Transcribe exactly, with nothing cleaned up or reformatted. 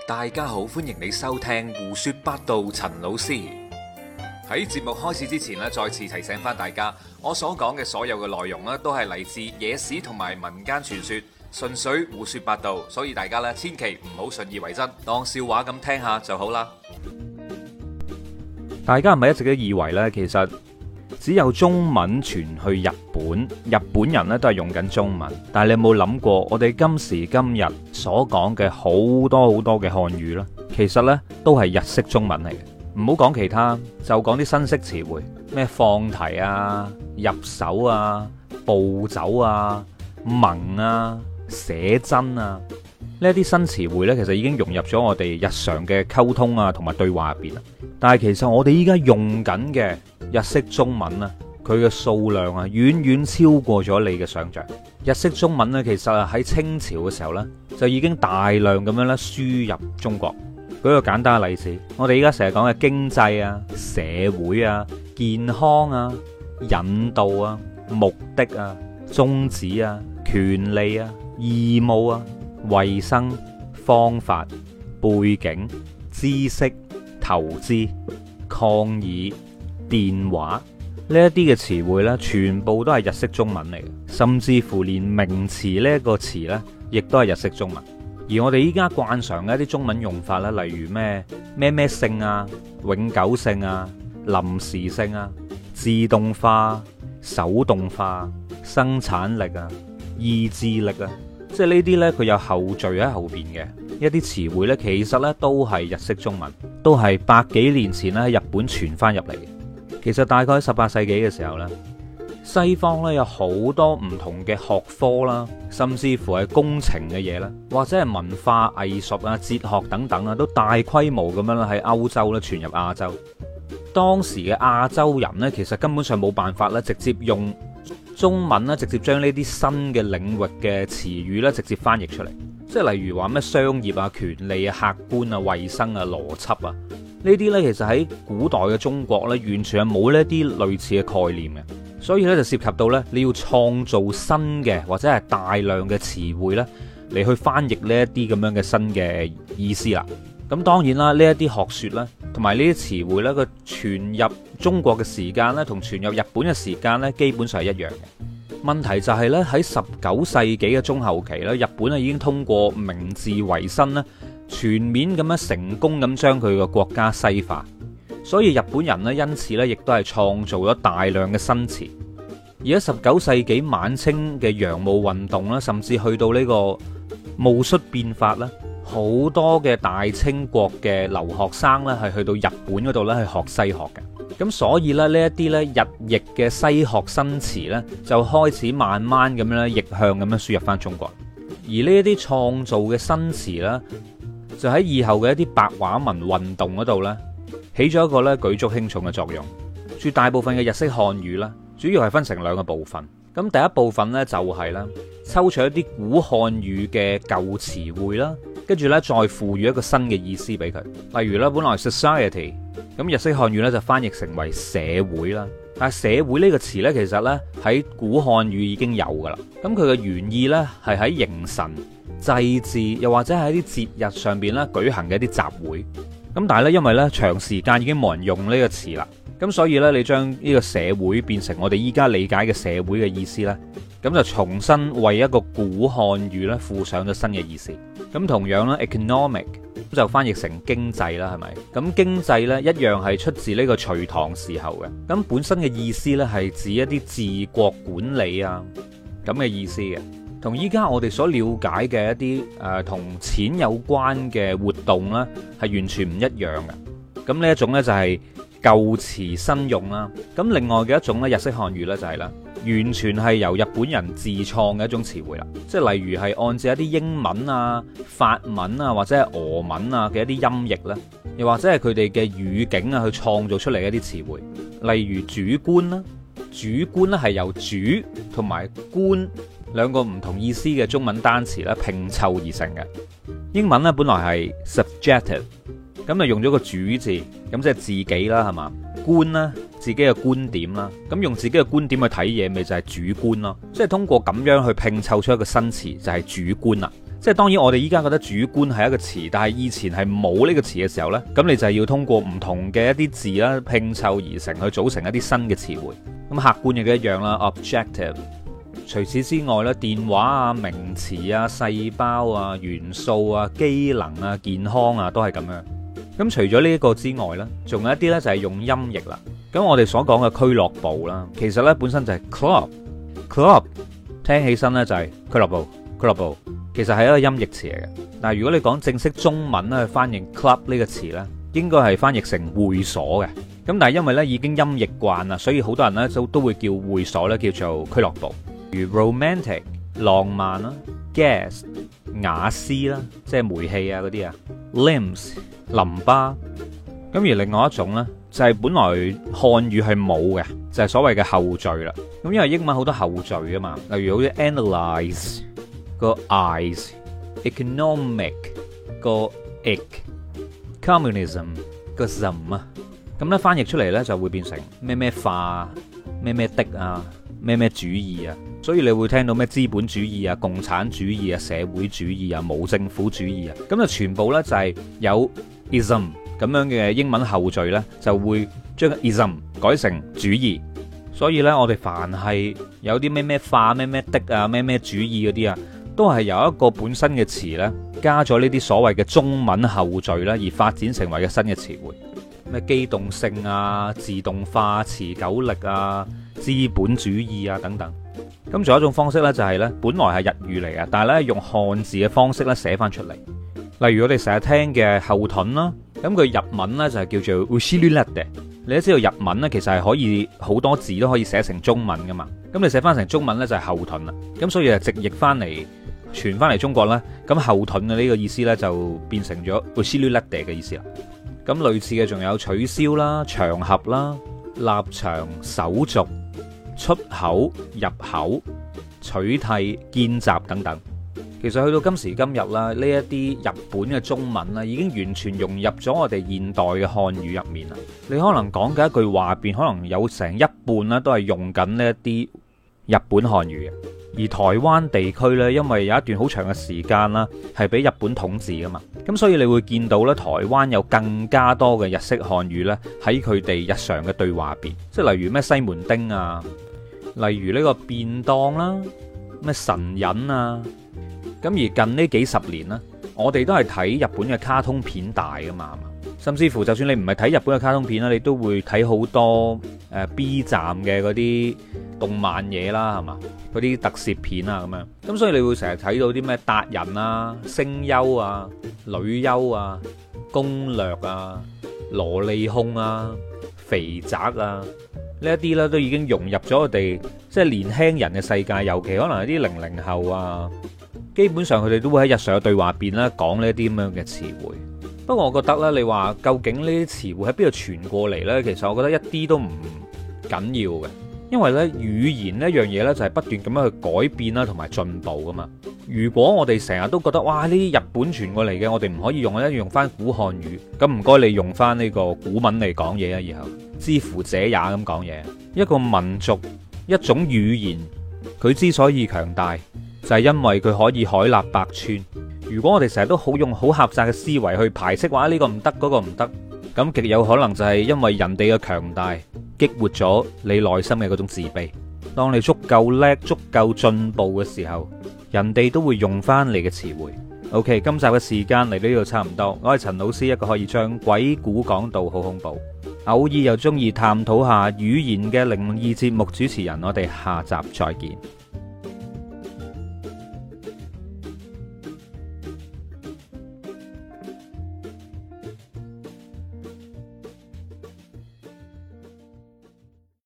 大家好，歡迎你收聽胡說八道。陳老師喺節目開始之前咧，再次提醒翻大家，我所講嘅所有嘅內容咧，都係嚟自野史同埋民間傳說，純粹胡說八道，所以大家咧千祈唔好信以為真，當笑話咁聽下就好啦。 大家係咪一直都以為呢？其實只有中文傳去日本，日本人咧都係用緊中文。但係你有冇諗過，我哋今時今日所講嘅好多好多嘅漢語呢，其實呢都係日式中文嚟嘅。唔好講其他，就講啲新式詞彙，咩放題啊、入手啊、步走啊、盟啊、寫真啊，呢一啲新詞彙呢，其實已經融入咗我哋日常嘅溝通啊，同埋對話入邊啦。但係其實我哋依家用緊嘅日式中文啊，佢嘅數量啊，遠遠超過咗你嘅想象。日式中文呢，其實啊喺清朝嘅時候呢，就已經大量咁樣咧輸入中國。舉個簡單嘅例子，我哋依家成日講嘅經濟啊、社會啊、健康啊、引導啊、目的啊、宗旨啊、權利啊、義務啊、衛生、方法、背景、知識、投資、抗議、電話呢一啲嘅詞彙呢，全部都係日式中文嚟嘅，甚至乎連名詞呢一個詞呢，亦都係日式中文。而我哋依家慣常嘅一啲中文用法咧，例如咩咩咩性啊、永久性啊、臨時性啊、自動化、手動化、生產力啊、意志力啊，即係呢啲呢，佢有後綴喺後邊嘅一啲詞彙呢，其實呢都係日式中文，都係百幾年前咧喺日本傳翻入嚟。其實大概喺十八世紀嘅時候呢，西方呢有好多唔同嘅學科啦，甚至乎係工程嘅嘢啦，或者係文化藝術啊、哲學等等啊，都大規模咁樣啦喺歐洲咧傳入亞洲。當時嘅亞洲人呢，其實根本上冇辦法咧，直接用中文咧，直接將呢啲新嘅領域嘅詞語咧，直接翻譯出嚟。即係例如話咩商業啊、權利啊、客觀啊、衛生啊、邏輯啊，呢啲呢，其實喺古代嘅中國呢，完全係冇呢啲類似嘅概念嘅。所以咧就涉及到咧，你要創造新嘅或者係大量嘅詞彙咧，嚟去翻譯呢一啲咁樣嘅新嘅意思啦。咁當然啦，呢一啲學說咧，同埋呢啲詞彙咧，佢傳入中國嘅時間咧，同傳入日本嘅時間咧，基本上係一樣嘅。問題就係咧，喺十九世紀嘅中後期咧，日本啊已經通過明治維新咧，全面咁樣成功咁將佢個國家西化。所以日本人咧，因此咧，亦都係創造咗大量嘅新詞。而喺十九世紀晚清嘅洋務運動啦，甚至去到呢個戊戌變法啦，好多嘅大清國嘅留學生咧，係去到日本嗰度咧，去學西學嘅。咁所以咧，呢一啲咧日譯嘅西學新詞咧，就開始慢慢咁樣咧逆向咁樣輸入翻中國。而呢一啲創造嘅新詞咧，就喺以後嘅一啲白話文運動嗰度咧，起咗一個咧舉足輕重嘅作用。絕大部分嘅日式漢語啦，主要係分成兩個部分。咁第一部分呢，就係啦，抽取一啲古漢語嘅舊詞彙啦，跟住呢，再賦予一個新嘅意思俾佢。例如咧，本來 society 咁日式漢語呢，就翻譯成為社會啦。但係社會呢個詞呢，其實呢，喺古漢語已經有噶啦。咁佢嘅原意呢，係喺迎神、祭祀，又或者係喺啲節日上邊咧舉行嘅一啲集會。咁但係咧，因為咧長時間已經冇人用呢個詞啦，咁所以咧你將呢個社會變成我哋依家理解嘅社會嘅意思咧，咁就重新為一個古漢語咧附上咗新嘅意思。咁同樣咧 economic 就翻譯成經濟啦，係咪？咁經濟咧一樣係出自呢個隋唐時候嘅，咁本身嘅意思咧係指一啲治國管理啊咁嘅意思嘅。同依家我哋所了解嘅一啲誒同錢有關嘅活動呢，係完全唔一樣嘅。咁呢一種呢，就係舊詞新用啦。咁另外嘅一種咧日式漢語呢，就係啦，完全係由日本人自創嘅一種詞彙啦。即係例如係按照一啲英文啊、法文啊或者係俄文啊嘅一啲音譯啦，又或者係佢哋嘅語境啊去創造出嚟嘅一啲詞彙。例如主觀啦，主觀咧係由主同埋觀兩個唔同意思嘅中文單詞咧拼湊而成嘅。英文咧本來係 subjective， 咁就用咗個主字，咁即係自己啦，係嘛？觀啦，自己嘅觀點啦，咁用自己嘅觀點去睇嘢，咪就係主觀咯。即係通過咁樣去拼湊出一個新詞，就係主觀啦。 即係當然我哋依家覺得主觀係一個詞，但係以前係冇呢個詞嘅時候呢，咁你就係要通過唔同嘅一啲字啦拼湊而成，去組成一啲新嘅詞彙。咁客觀嘅一樣啦 ，objective。除此之外咧，電話啊、名詞啊、細胞啊、元素啊、機能啊、健康啊，都係咁樣。咁除咗呢一個之外呢，仲有一啲呢就係用音譯啦。咁我哋所講嘅俱樂部啦，其實呢本身就係 club，club 聽起身呢就係俱樂部，俱樂部其實係一個音譯詞嚟嘅。但係如果你講正式中文咧去翻譯 club 呢個詞呢，應該係翻譯成會所嘅。咁但係因為呢已經音譯慣啦，所以好多人呢都都會叫會所呢叫做俱樂部。如 romantic 浪漫啦 ，gas 瓦斯啦，即係煤氣啊嗰啲啊 ，limbs 淋巴。咁而另外一種呢，就係本來漢語係冇嘅，就係所謂嘅後序啦。咁因為英文好多後序啊嘛，例如好似 analyze 個 eyes，economic 個 ec，communism 個 some 啊。咁咧翻譯出嚟呢，就會變成咩咩化、咩咩的啊、咩咩主義啊。所以你會聽到咩資本主義啊、共產主義啊、社會主義啊、無政府主義啊，咁就全部呢，就係有 ism 咁樣嘅英文後序呢，就會將 ism 改成主義。所以呢，我哋凡係有啲咩咩化、咩咩的啊、咩咩主義嗰啲啊，都係由一個本身嘅詞呢，加咗呢啲所謂嘅中文後序啦，而發展成為嘅新嘅詞彙。咩機動性啊、自動化、持久力啊、資本主義啊等等。咁仲有一種方式呢，就係呢，本來係日語嚟嘅，但係呢，用漢字嘅方式呢寫翻出嚟。例如我哋成日聽嘅後盾啦，咁佢日文呢就係叫做 ushirulate。你都知道日文呢其實係可以好多字都可以寫成中文噶嘛。咁你寫翻成中文呢，就係後盾啦。咁所以就直譯翻嚟傳翻嚟中國啦。咁後盾嘅呢個意思呢，就變成咗 ushirulate 嘅意思啦。咁類似嘅仲有取消啦、場合啦、立場、手續、出口、入口、取締、見習等等。其實去到今時今日啦，呢一啲日本嘅中文啦，已經完全融入咗我哋現代嘅漢語入面啦。你可能講嘅一句話入邊，可能有成一半啦，都係用緊呢一啲日本漢語嘅。而台灣地區呢，因為有一段好長嘅時間啦，係俾日本統治噶嘛，咁所以你會見到咧，台灣有更加多嘅日式漢語呢，喺佢哋日常嘅對話入邊，即係例如咩西門町啊，例如呢個便當啦，咩神隱啊，咁而近呢幾十年呢，我哋都係睇日本嘅卡通片大噶嘛，甚至乎就算你唔係睇日本嘅卡通片啦，你都會睇好多誒 B 站嘅嗰啲動漫嘢啦，係嘛？嗰啲特攝片啊咁樣，咁所以你會成日睇到啲咩達人啊、聲優啊、女優啊、攻略啊、蘿莉控啊、肥宅啊呢一啲呢，都已經融入咗我哋即係年輕人嘅世界，尤其可能係啲零零後啊，基本上佢哋都會喺日常嘅對話入邊咧講呢啲咁樣嘅詞彙。不過我覺得呢，你話究竟呢啲詞彙喺邊度傳過嚟呢？其實我覺得一啲都唔緊要嘅。因為咧語言呢一樣嘢呢，就係不斷咁樣去改變啦，同埋進步噶嘛。如果我哋成日都覺得哇，呢啲日本傳過嚟嘅，我哋唔可以用，一用翻古漢語，咁唔該你用翻呢個古文嚟講嘢啊。以後之乎者也咁講嘢。一個民族一種語言，佢之所以強大，就係因為佢可以海納百川。如果我哋成日都好用好狹窄嘅思維去排斥話呢個唔得，嗰個唔得，咁極有可能就係因為人哋嘅強大激活咗你內心嘅嗰種自卑。當你足夠叻、足夠進步嘅時候，人哋都會用翻你嘅詞彙。OK， 今集嘅時間嚟到呢度差唔多。我係陳老師，一個可以將鬼故講到好恐怖，偶爾又中意探討下語言嘅靈異節目主持人。我哋下集再見。